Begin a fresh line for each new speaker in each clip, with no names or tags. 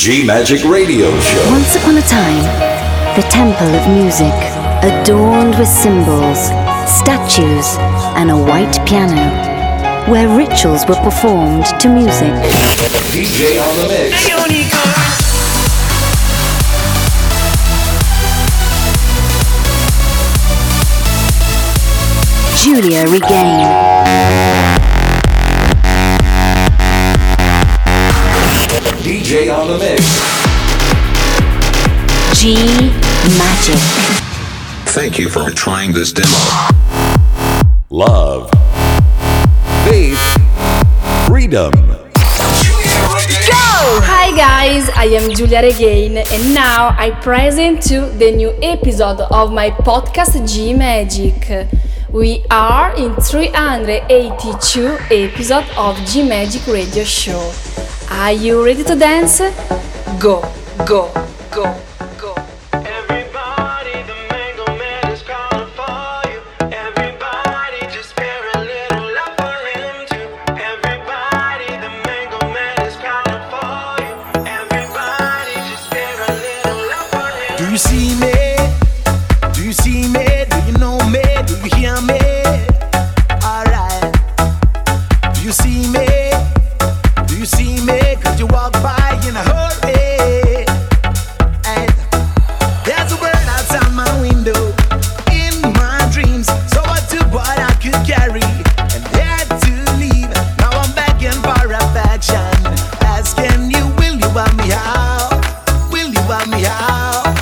G-Magic Radio Show.
Once upon a time, the temple of music, adorned with symbols, statues, and a white piano, where rituals were performed to music.
DJ on the mix.
Giulia Regain.
DJ on the mix.
G-Magic.
Thank you for trying this demo.
Love. Faith. Freedom.
Go! Hi guys, I am Giulia Regain and now I present you the new episode of my podcast G-Magic. We are in 382 episode of G-Magic Radio Show. Are you ready to dance? Go, go, go.
You see me? Do you see me? Do you know me? Do you hear me? Alright. Do you see me? Do you see me? Cause you walk by in a hurry. And there's a bird outside my window in my dreams. So I took what I could carry and had to leave. Now I'm begging for affection, asking you, will you help me out? Will you help me out?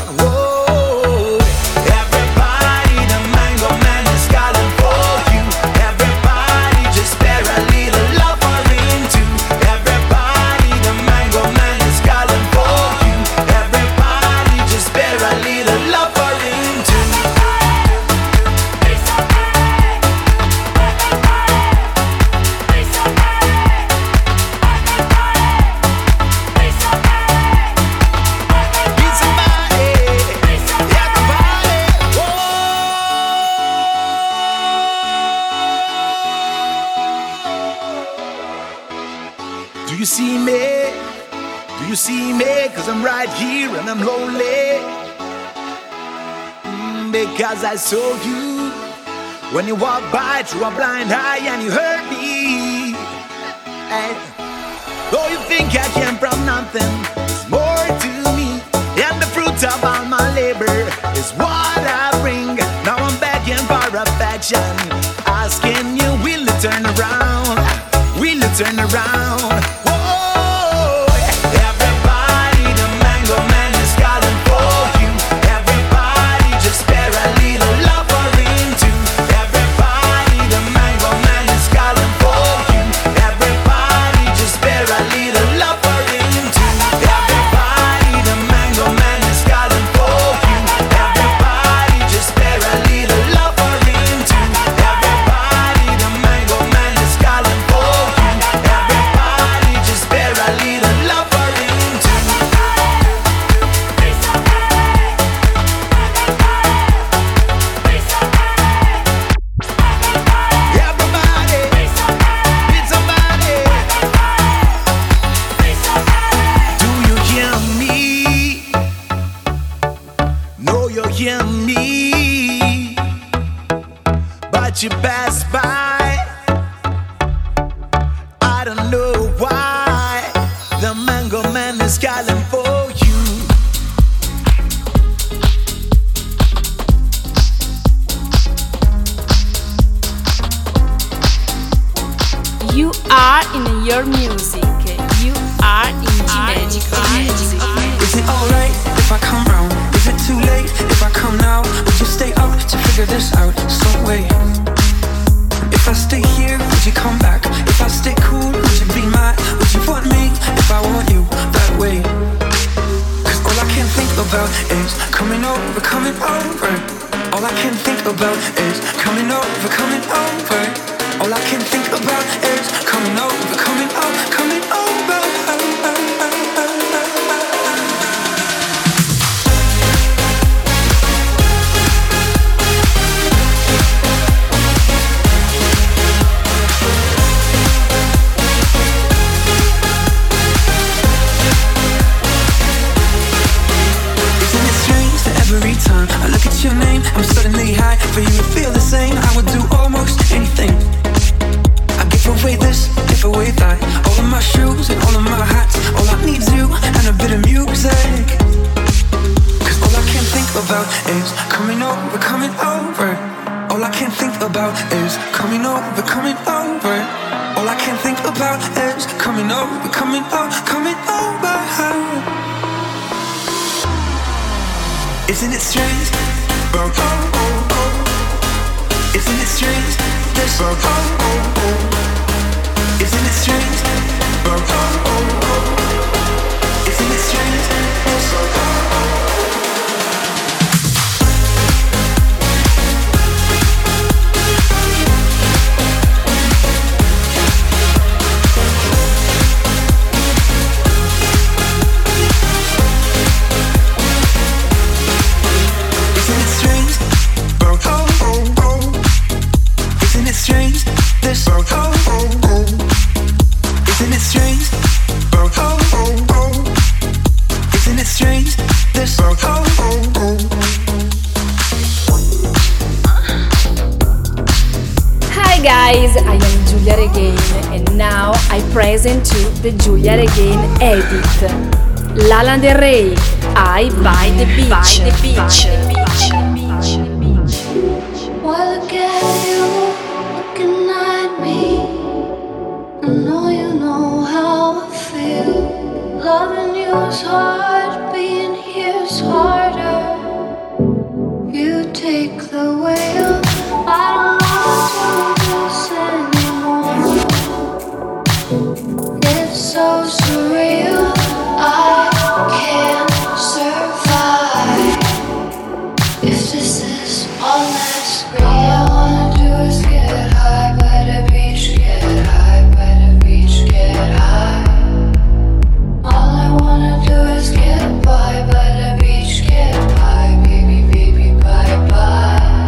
Do you see me? Do you see me? Cause I'm right here and I'm lonely. Because I saw you when you walked by through a blind eye and you hurt me. And though you think I came from nothing, there's more to me. And the fruit of all my labor is what I bring. Now I'm begging for affection, asking you, will you turn around? Will you turn around? You pass by, I don't know why the Mango Man is calling for you.
You are in your music. You are in G-Magic music.
Is it alright if I come round? Is it too late if I come now? Would you stay up to figure this out? So wait. If I stay here, would you come back? If I stay cool, would you be mad? Would you want me if I want you that way? Cause all I can think about is coming over, coming over. All I can think about is coming over, coming over. All I can think about is coming over, coming over, coming over. enjoy that. All of my shoes and all of my hats, all I need's you and a bit of music. Cause all I can think about is coming over, coming over. All I can think about is coming over, coming over. All I can think about is coming over, coming over, coming over. Isn't it strange? Oh, oh, oh, oh. Isn't it strange? This oh, oh, oh, oh. Isn't it strange? Oh, oh, oh, oh. Isn't it strange? This oh, oh, oh.
Hi guys, I am Giulia Regain and now I present to the Giulia Regain edit. Lana Del Rey, I by the beach. By the beach.
Well, look at you, looking at me. I know you know how I feel. Loving you is hard, being here is harder. You take the wheel. I don't want to do this anymore. It's so surreal. I can't survive if this is all that's real. All I wanna do is get high by the beach, get high by the beach, get high. All I wanna do is get by the beach, get by, baby, baby, bye bye.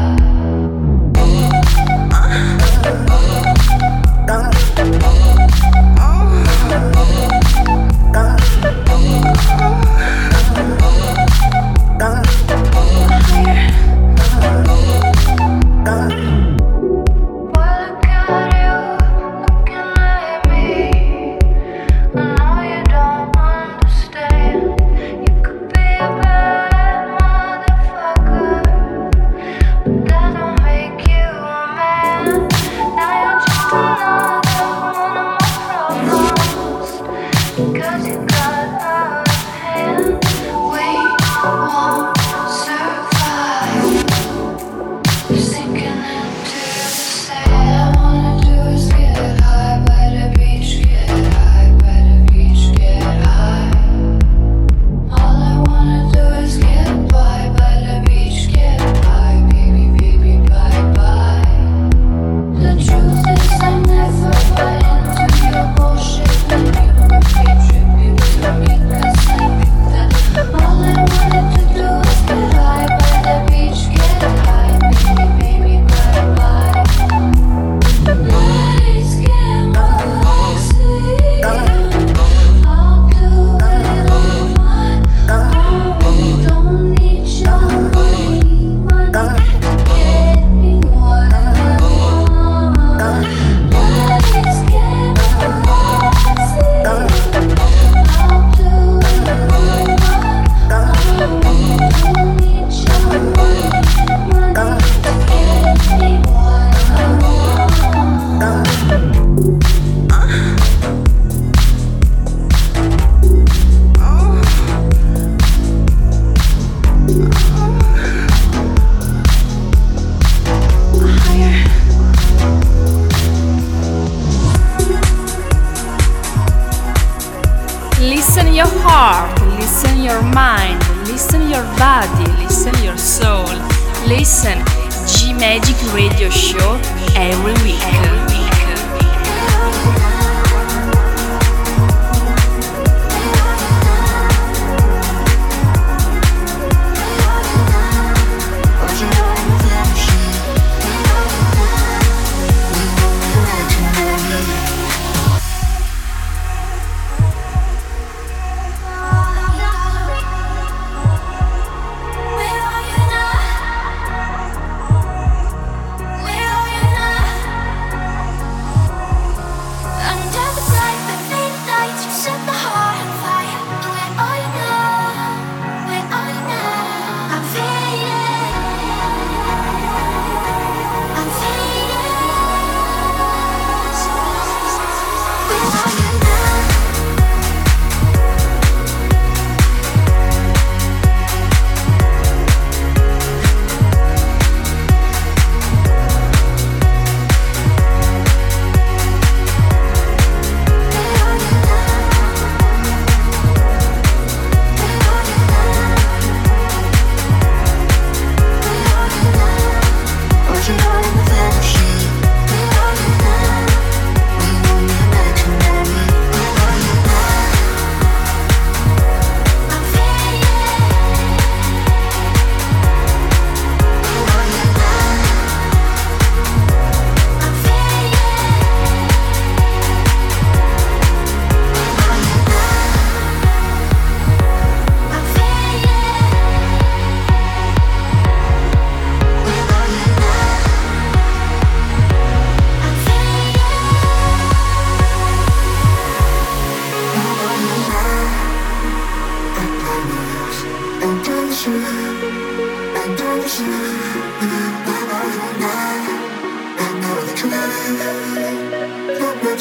Listen your heart, listen your mind, listen your body, listen your soul. Listen G Magic Radio Show every week.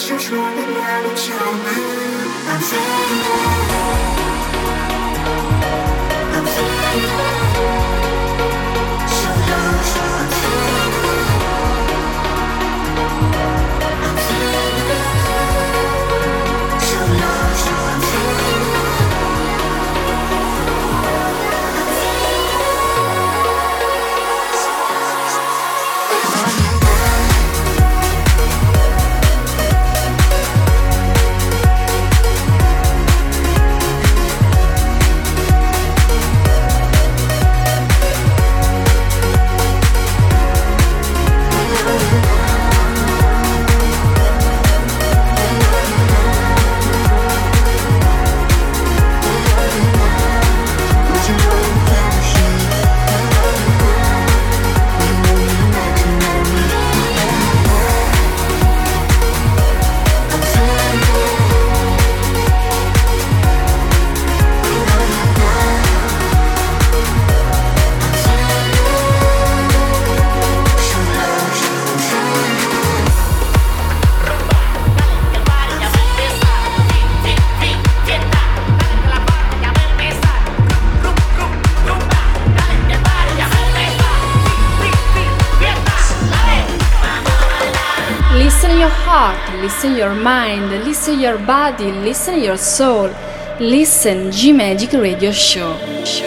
Listen your mind, listen your body, listen your soul. Listen G-Magic Radio Show.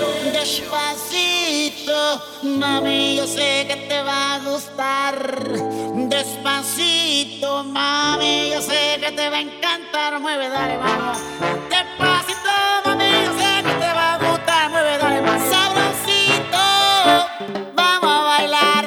Despacito, mami, yo sé que te va a gustar. Despacito, mami, yo sé que te va a encantar. Mueve, dale, vamos. Despacito, mami, yo sé que te va a gustar. Mueve, dale, vamos. Sabrosito, vamos a bailar.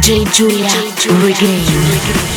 DJ Giulia Regain.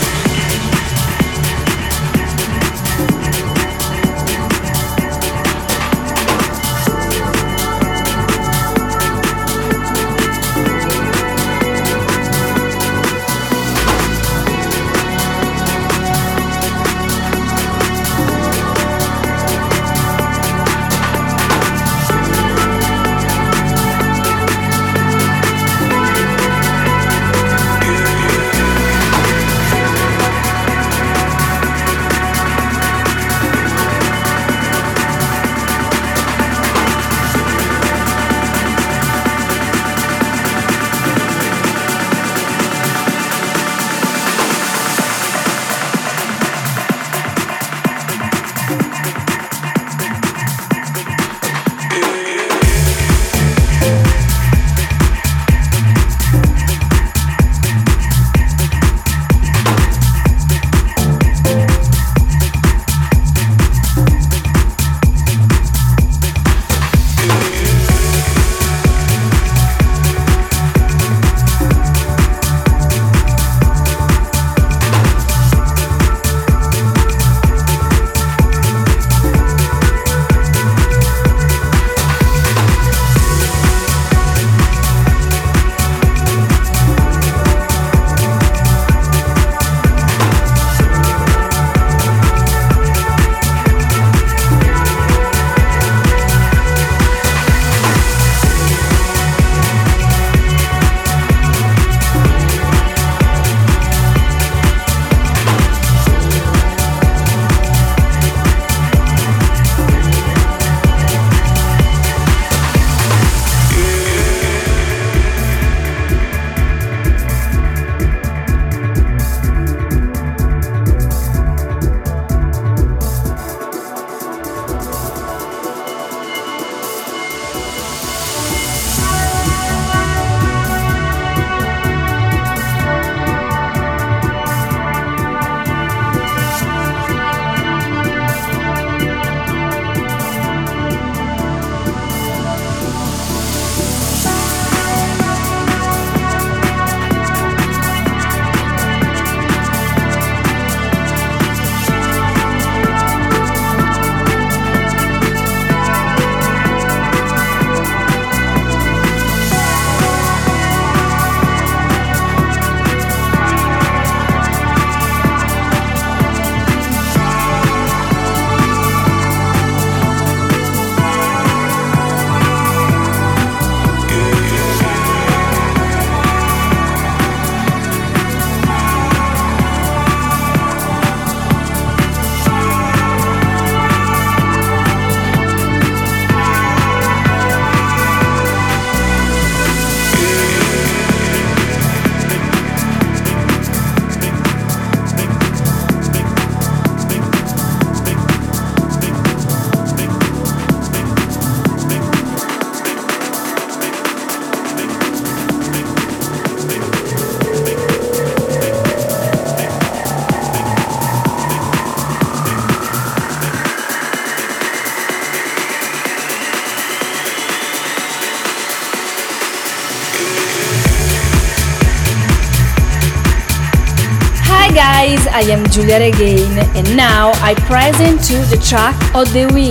Guys, I am Giulia Regain and now I present to the track of the week.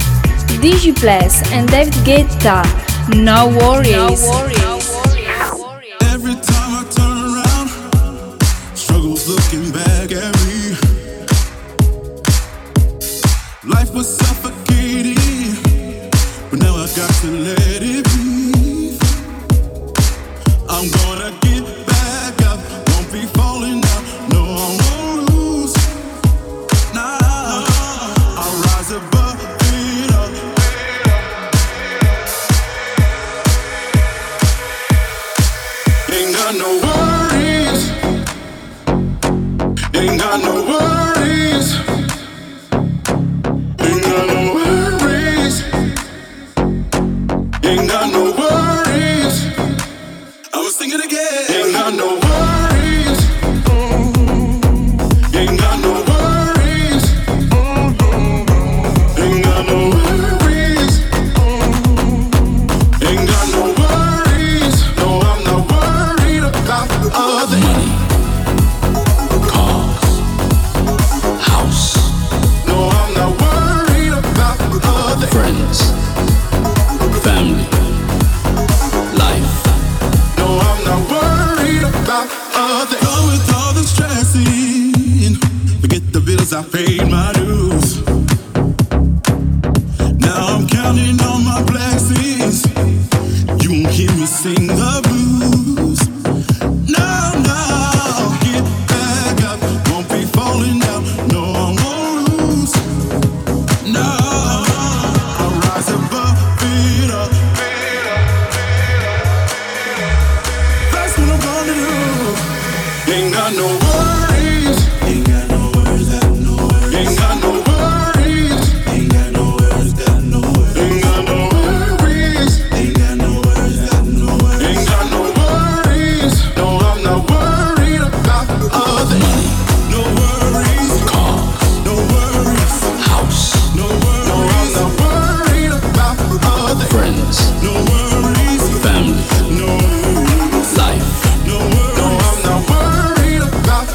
Digiplus and David Guetta, No Worries.
Every time I turn around, struggles looking back at me. Life was suffocating, but now I got to let it breathe. I'm gonna get back up, won't be falling down. No, I won't lose. Nah, I'll rise above it up. Ain't got no worries. Ain't got no worries. Ain't got no worries. Ain't got no worries. I'ma sing it again. Ain't got no worries. Ain't got no worries. Ain't got no worries. Ain't got no worries. No, I'm not worried about other. Money, cars, house. No, I'm not worried about other. Friends, family, life. No, I'm not worried about other. Go with all the stressing. Forget the bills, I paid my dues. Now I'm counting on my blessings. You won't hear me sing the blues. No, no, get back up. Won't be falling down. No, I won't lose. No, I'll rise above it up. That's what I'm gonna do. Ain't got no worries. Ain't got no worries. Ain't got no worries. Ain't got no worries. Ain't got no worries. Ain't got no worries. Ain't got no worries. No, I'm not worried about other. Money. No worries. Cars. No worries. House. No worries. No, I'm not worried about other. Friends. No worries. Family. No worries. Life. No worries. No, I'm not worried about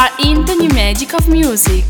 are in the new magic of music.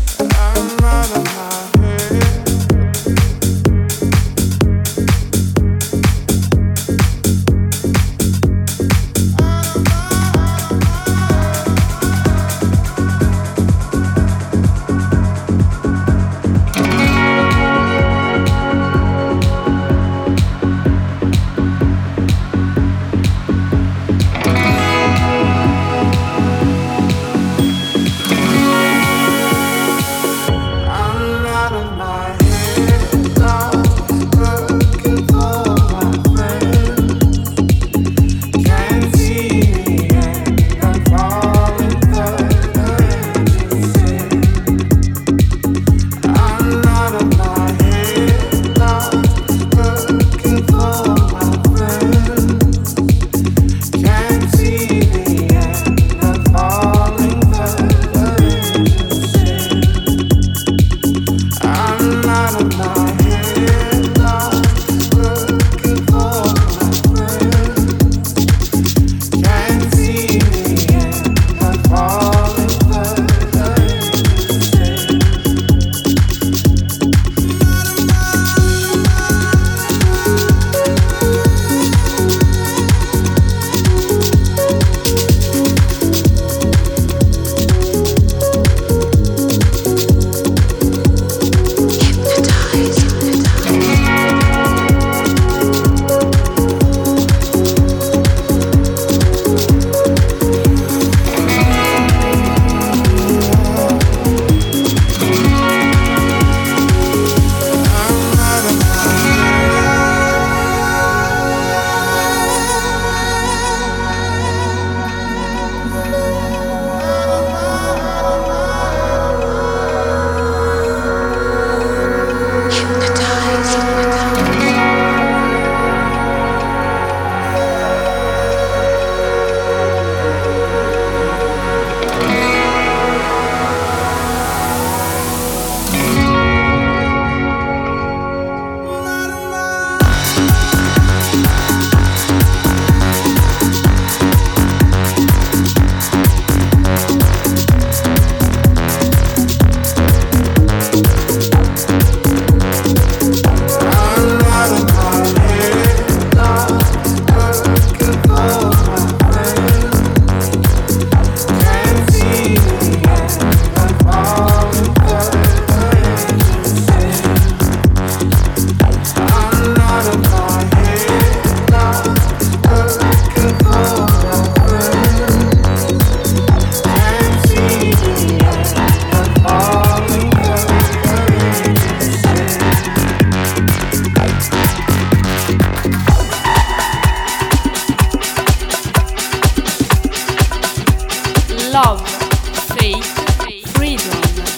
Love, faith, freedom.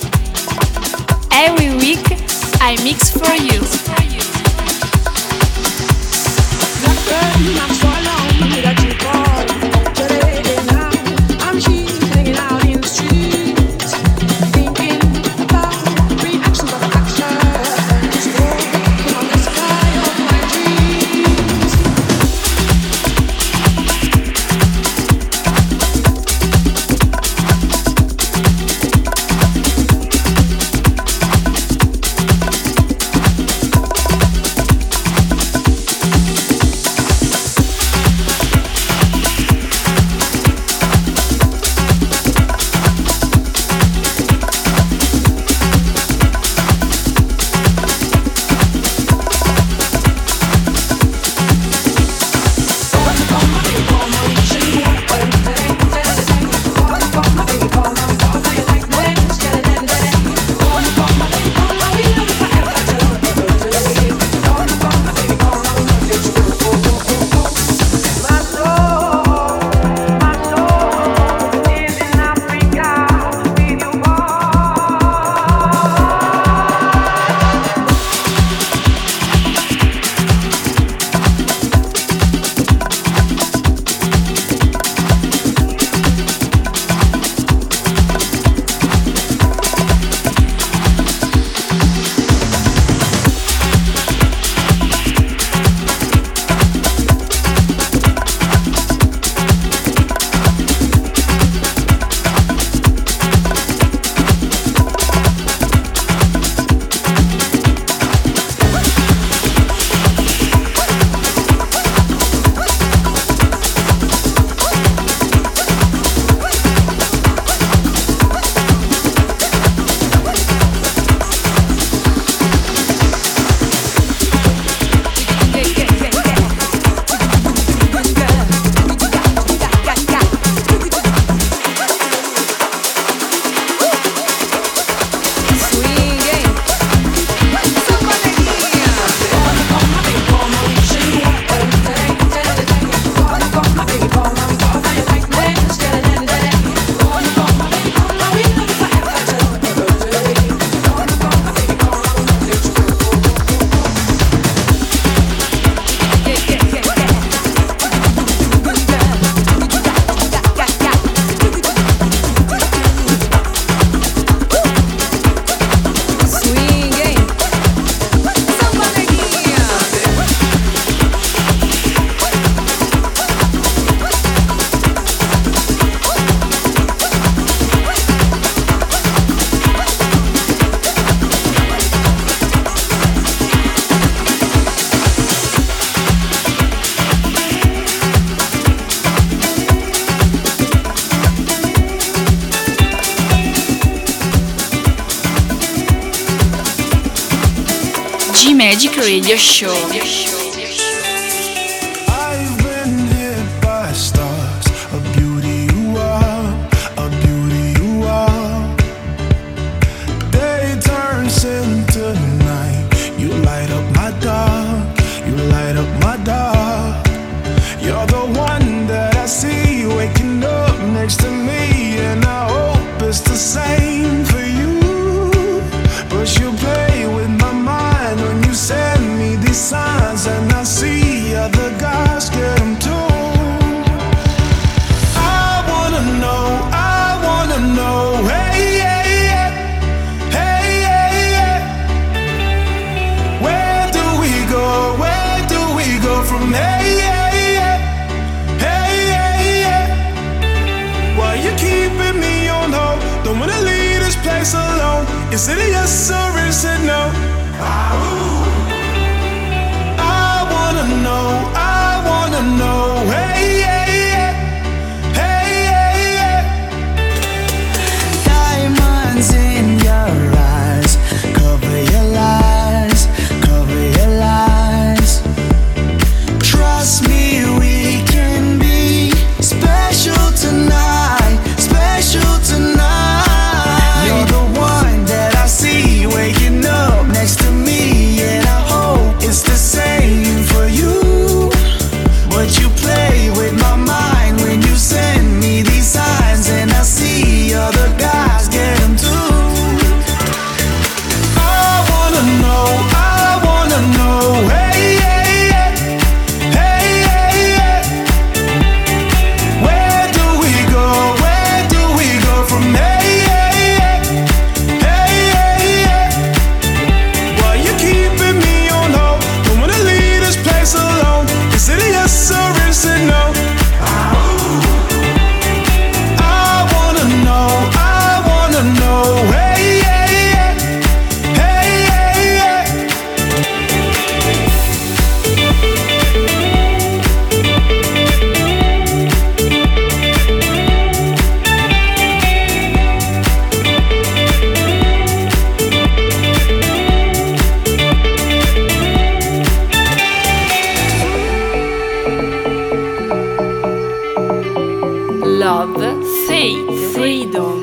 Every week I mix for you. G-Magic Radio Show.
I've been hit by stars, a beauty you are, a beauty you are. Day turns into night, you light up my dark, you light up my dark. You're the one that I see waking up next to me, and I hope it's the same for you. But you play with my mind when you send me these signs, and I see other guys get them too. I wanna know, hey, hey, yeah, hey, hey, yeah. Where do we go from hey, hey, yeah, hey, hey, yeah. Why you keeping me on hold? Don't wanna leave this place alone. Is it a yes or is it no? I wanna know, hey, hey, yeah, hey, hey, yeah. Diamonds in your eyes, cover your lies, cover your lies. Trust me, we can be special tonight, special tonight. You're the one that I see waking up next to me, and I hope it's the same for you. But you play with my mind when you send me these signs, and I see other guys get them too. I wanna know, hey, hey, yeah, hey, hey, yeah. Where do we go from hey, hey, yeah, hey, hey, yeah. Why you keeping me on hold? Don't wanna leave this place alone. Is it a yes or is it no? I wanna know, hey, hey, yeah, hey, hey, yeah.
Love, faith, freedom.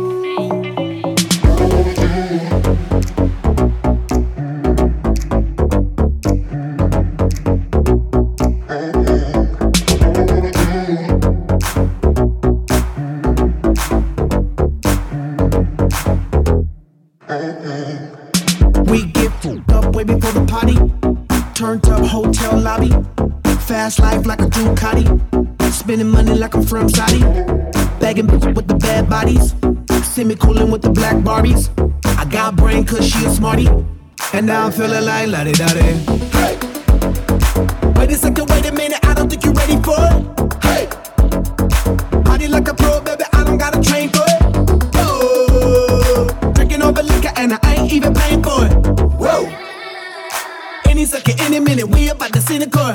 We get fucked up way before the party. Turned up hotel lobby. Fast life like a Ducati. Spending money like I'm from Saudi. Bagging bitches with the bad bodies. Semi-cooling with the black Barbies. I got brain cause she a smarty. And now I'm feeling like la-di-da-di. Hey! Wait a second, wait a minute, I don't think you're ready for it. Hey! Party like a pro, baby, I don't gotta train for it. Oh! Drinking over liquor and I ain't even paying for it. Whoa! Any second, any minute, we about to see the chorus.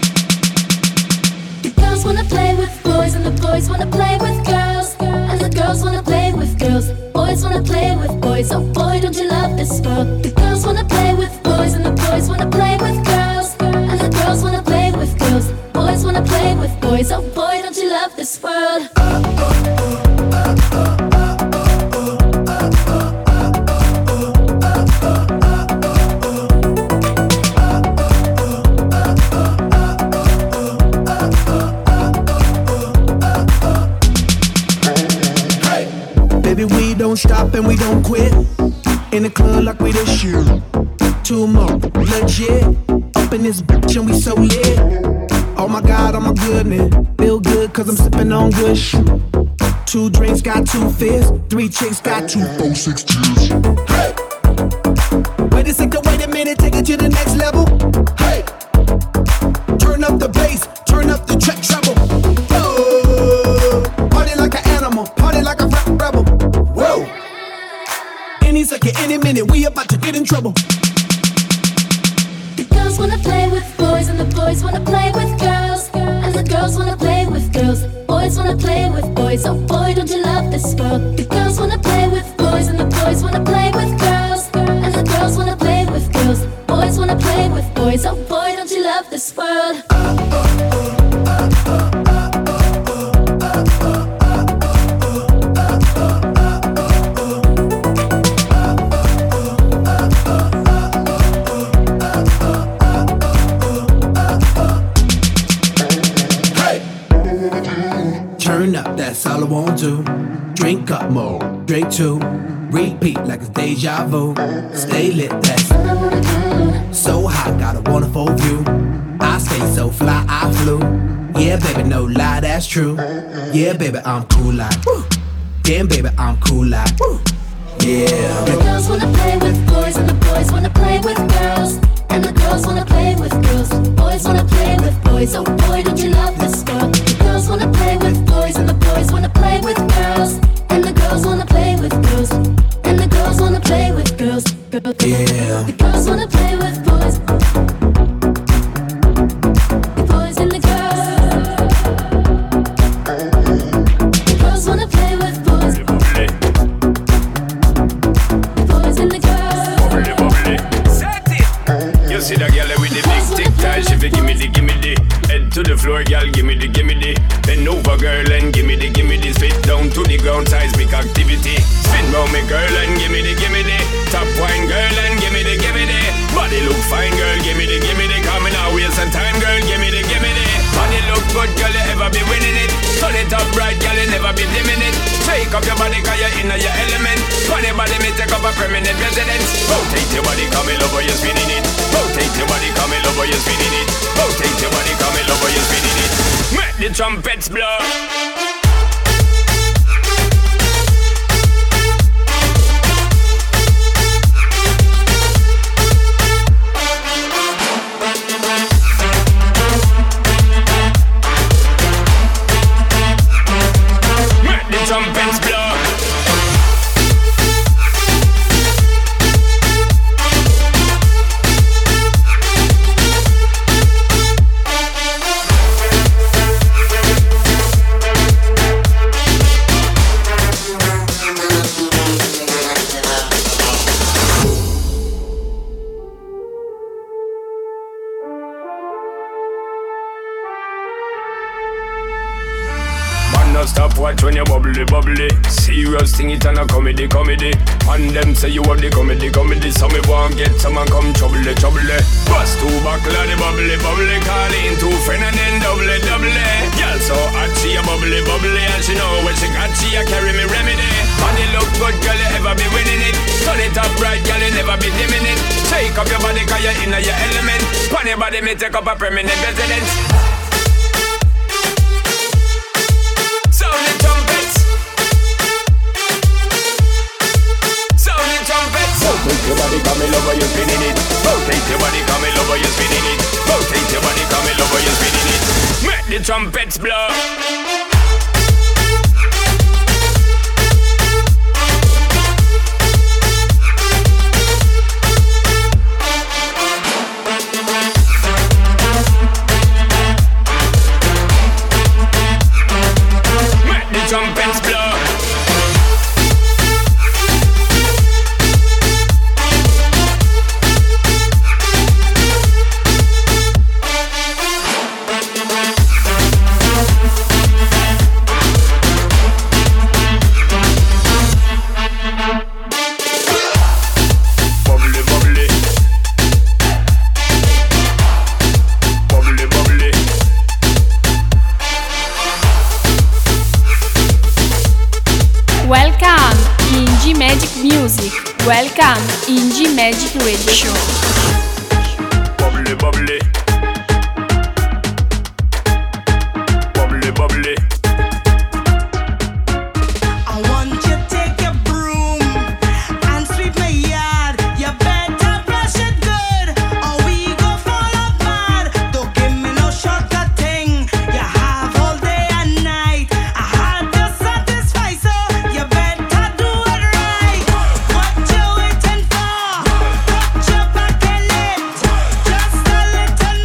The girls wanna play with boys and the boys wanna play with girls, and the girls wanna play with girls. Boys wanna play with boys. Oh boy, don't you love this world? The girls wanna play with boys and the boys wanna play with girls, and the girls wanna play with girls. Boys wanna play with boys. Oh boy, don't you love this world?
Baby, we don't stop and we don't quit. In the club like we this year. Two more, legit. Up in this bitch and we so lit. Oh my God, oh my goodness. Feel good cause I'm sipping on good shit. 2 drinks got 2 fists. 3 chicks got 2, 4, 6 tears. Hey! Wait a second, wait a minute, take it to the next level. Hey! Turn up the bass, turn up the track treble. Oh, party like an animal, party like a rebel. Whoa! Any second, any minute, we about to get in trouble.
The girls wanna play with boys and the boys wanna play with girls, and the girls wanna play with girls. Boys wanna play with boys. Oh boy, don't you love this world? The girls wanna play with boys and the boys wanna play with girls, and the girls wanna play with girls. Boys wanna
won't do. Drink up more, drink two. Repeat like it's deja vu. Stay lit, that's so hot, got a wonderful view. I stay so fly, I flew. Yeah, baby, no lie, that's true. Yeah, baby, I'm cool like woo. Damn, baby, I'm cool like woo. Yeah.
The girls wanna play with boys and the boys wanna play with girls. And the girls wanna play with girls. Boys wanna play with boys. Oh boy, don't you love this girl? The girls wanna play with boys and the boys wanna play with girls. And the girls wanna play with girls. And the girls wanna play with girls.
Yeah.
The girls wanna play with boys. The boys and the girls. The girls wanna play with boys. The boys and the girls.
Set it. You see that girl with the big tic tac, she fi gimme the. Head to the floor, girl, gimme the. Bend over, girl, and gimme the. Spit down to the ground, seismic activity. Spin round me, girl, and gimme the. Top wine, girl, and gimme the. Body look fine, girl, gimme the. Coming out, waste some time, girl, gimme the. Body look good, girl, you ever be winning it. Turn it up right, girl, you never be dimming it. Take up your body, cause you're in your element. Funny body, me take up a permanent residence. Rotate your body, come in over, you're spinning it. Rotate your body, come in over, you're spinning it. Rotate your body, come in over, you're spinning it. Make the trumpets blow. Trumpets blow. Stop watch when you bubbly. Serious thing it and a comedy. And them say you have the comedy. So me want get some and come trouble. Bust two buckle of the bubbly. Call in two friend and then double. Girl so hot she a bubbly. And she know when she got she a carry me remedy. Body look good, girl, you ever be winning it. Turn it up right, girl, you never be dimming it. Take up your body cause you're in your element. Pon your body me take up a permanent residence. Sound the trumpets. Rotate your body, come in over, you're spinning it. Rotate your body, come in over, you're spinning it. Rotate your body, come in over, you're spinning it. Make the trumpets blow. Trumpets blow.
Welcome in G Magic Music. Welcome in G Magic Radio Show.
Bubbly. Bubbly.
I want you to take your broom and sweep my yard. You better brush it good, or we go fall apart. Don't give me no shortcut thing. You have all day and night. I had to satisfy, so you better do it right. What you waiting for? Put your back in it. Just a little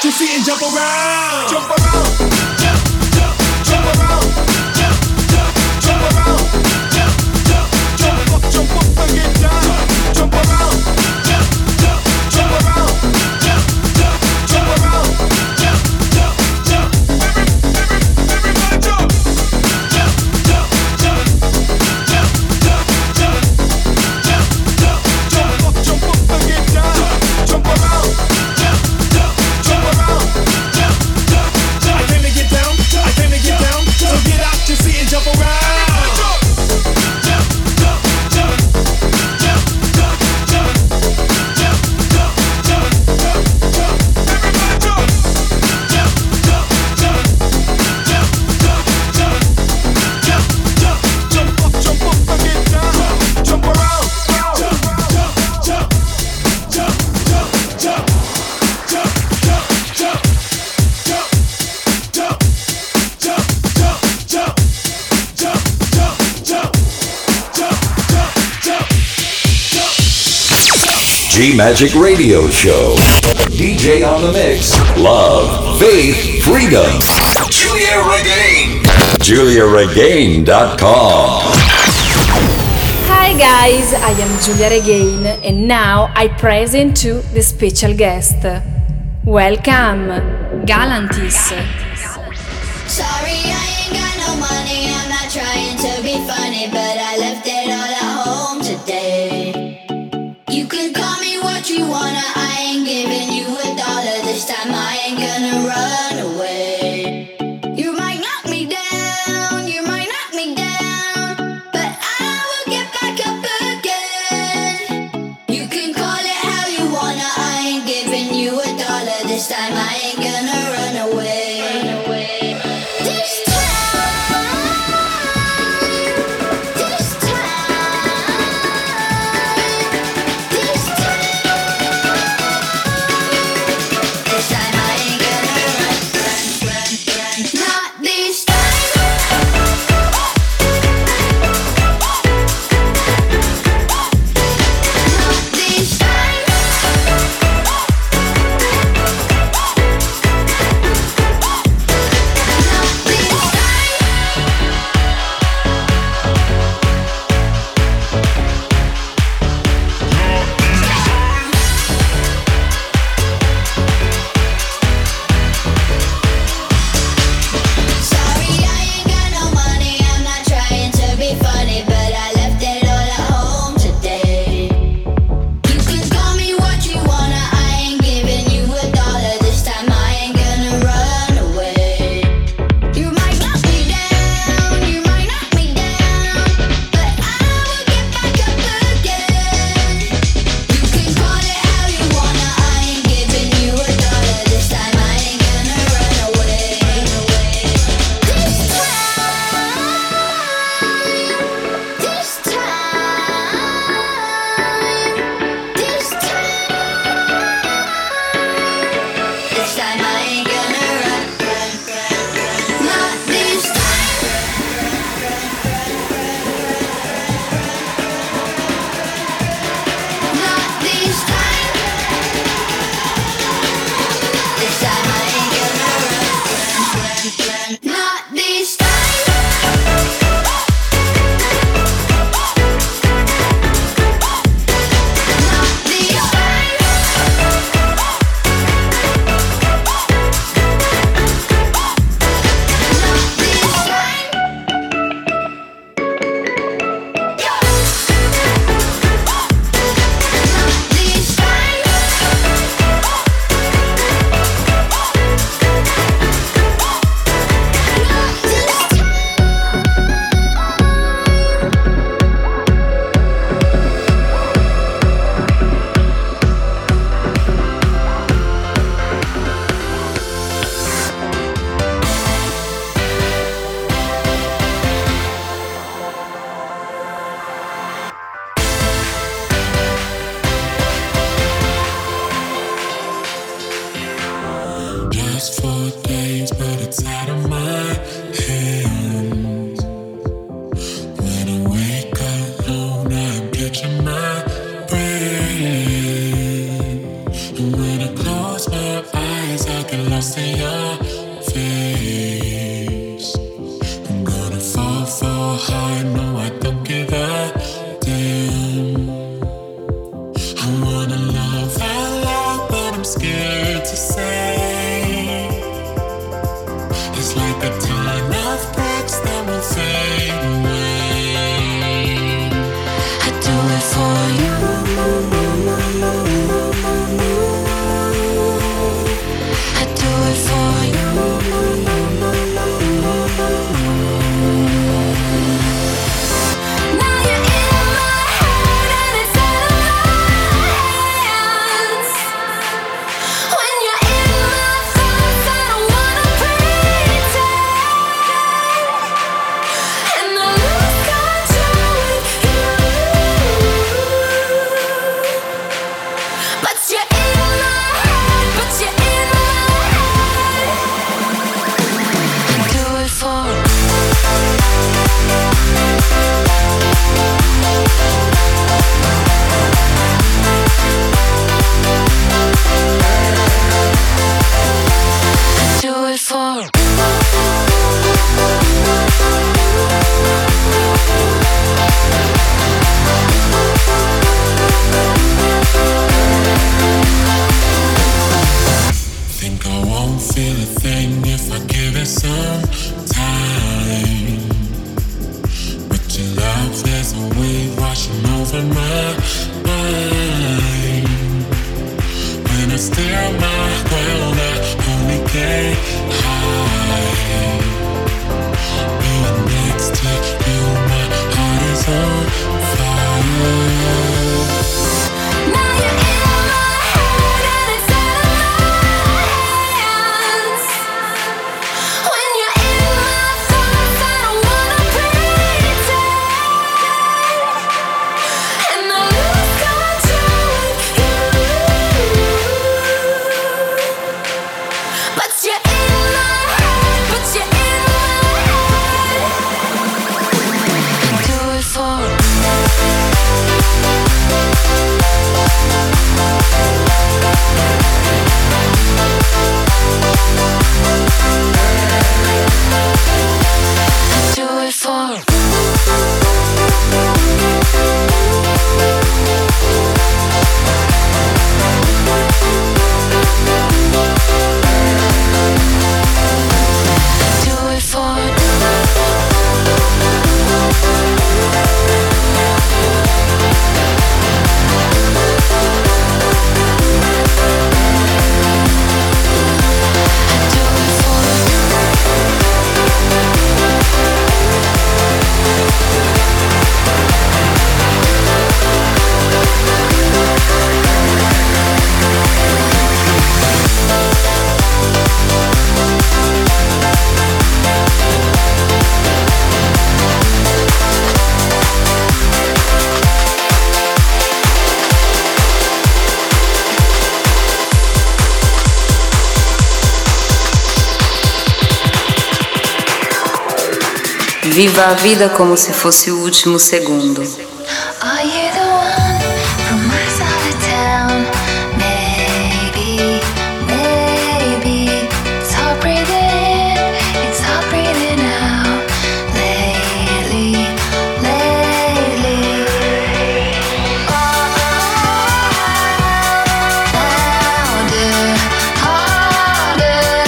your seat and jump around. Jump around. Jump, jump, jump around. Jump, jump, jump around. Jump, jump, jump up and get down. Jump around. Jump, jump, jump around. Jump, jump, jump around. Jump, jump, jump. Everybody jump. Jump, jump, jump. Jump, jump, jump. Jump up and get down. Jump around. Jump, jump, jump around. Jump, jump, jump. I came to get down. I came to get down. So get out your seat and jump around. Jump, jump, jump, jump, jump, jump, jump, jump, jump, jump, jump, jump. Everybody jump. Jump, jump, jump, jump, jump, jump, jump, jump, jump up and get down. Jump around. Jump, jump, jump, jump, jump, jump, jump, jump, jump, jump, jump, jump, jump, jump, jump.
G-Magic Radio Show. DJ on the mix. Love, faith, freedom. Julia Regain. JuliaRegain.com.
Hi guys, I am Giulia Regain and now I present to the special guest. Welcome, Galantis.
Sorry, I ain't got no money. I'm not trying to be funny, but I left it all at home today. You can call me what you wanna. I ain't giving you $1 this time. I ain't gonna run away. You might knock me down, you might knock me down, but I will get back up again. You can call it how you wanna. I ain't giving you $1 this time. I ain't gonna run away. This
And when I close my eyes, I
get lost in your face. I'm gonna fall hard, no I don't give a damn. I wanna love out loud, but I'm scared to say. It's like a ton of bricks that will fade away. I do it for you. I do it for you. Now you're in my head and it's out of my hands. When you're in my thoughts, I don't wanna pretend. And I lose control with you. But you're in my head, but you're in my head. I do it for you. Do it for think I won't feel a thing if I give it some time. But your love, there's a wave washing over my mind. When I stare my ground, I only get high. Being next to you, my heart is on fire. Now you're in my head and it's out of my hands. When you're in my thoughts, I don't wanna pretend. And I lose control with you. But you're in my head, but you're in my head. I do it for you. I do it for you. I do it for you.
Viva a vida como se fosse o último segundo.
Are you the one from my side of town? Maybe, maybe. It's hard breathing in, it's hard breathing out. Lately, lately. Louder, harder,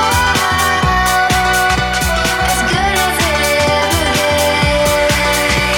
as good as it ever gets.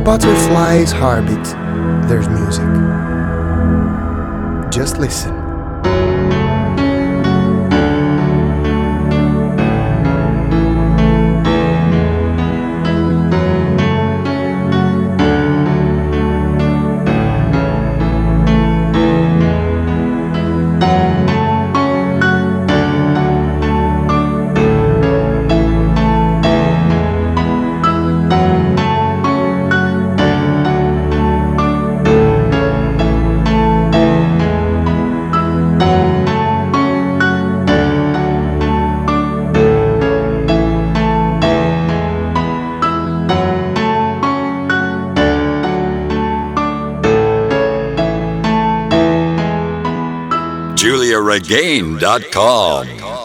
butterfly's heartbeat, there's music. Just listen.
JuliaRegain.com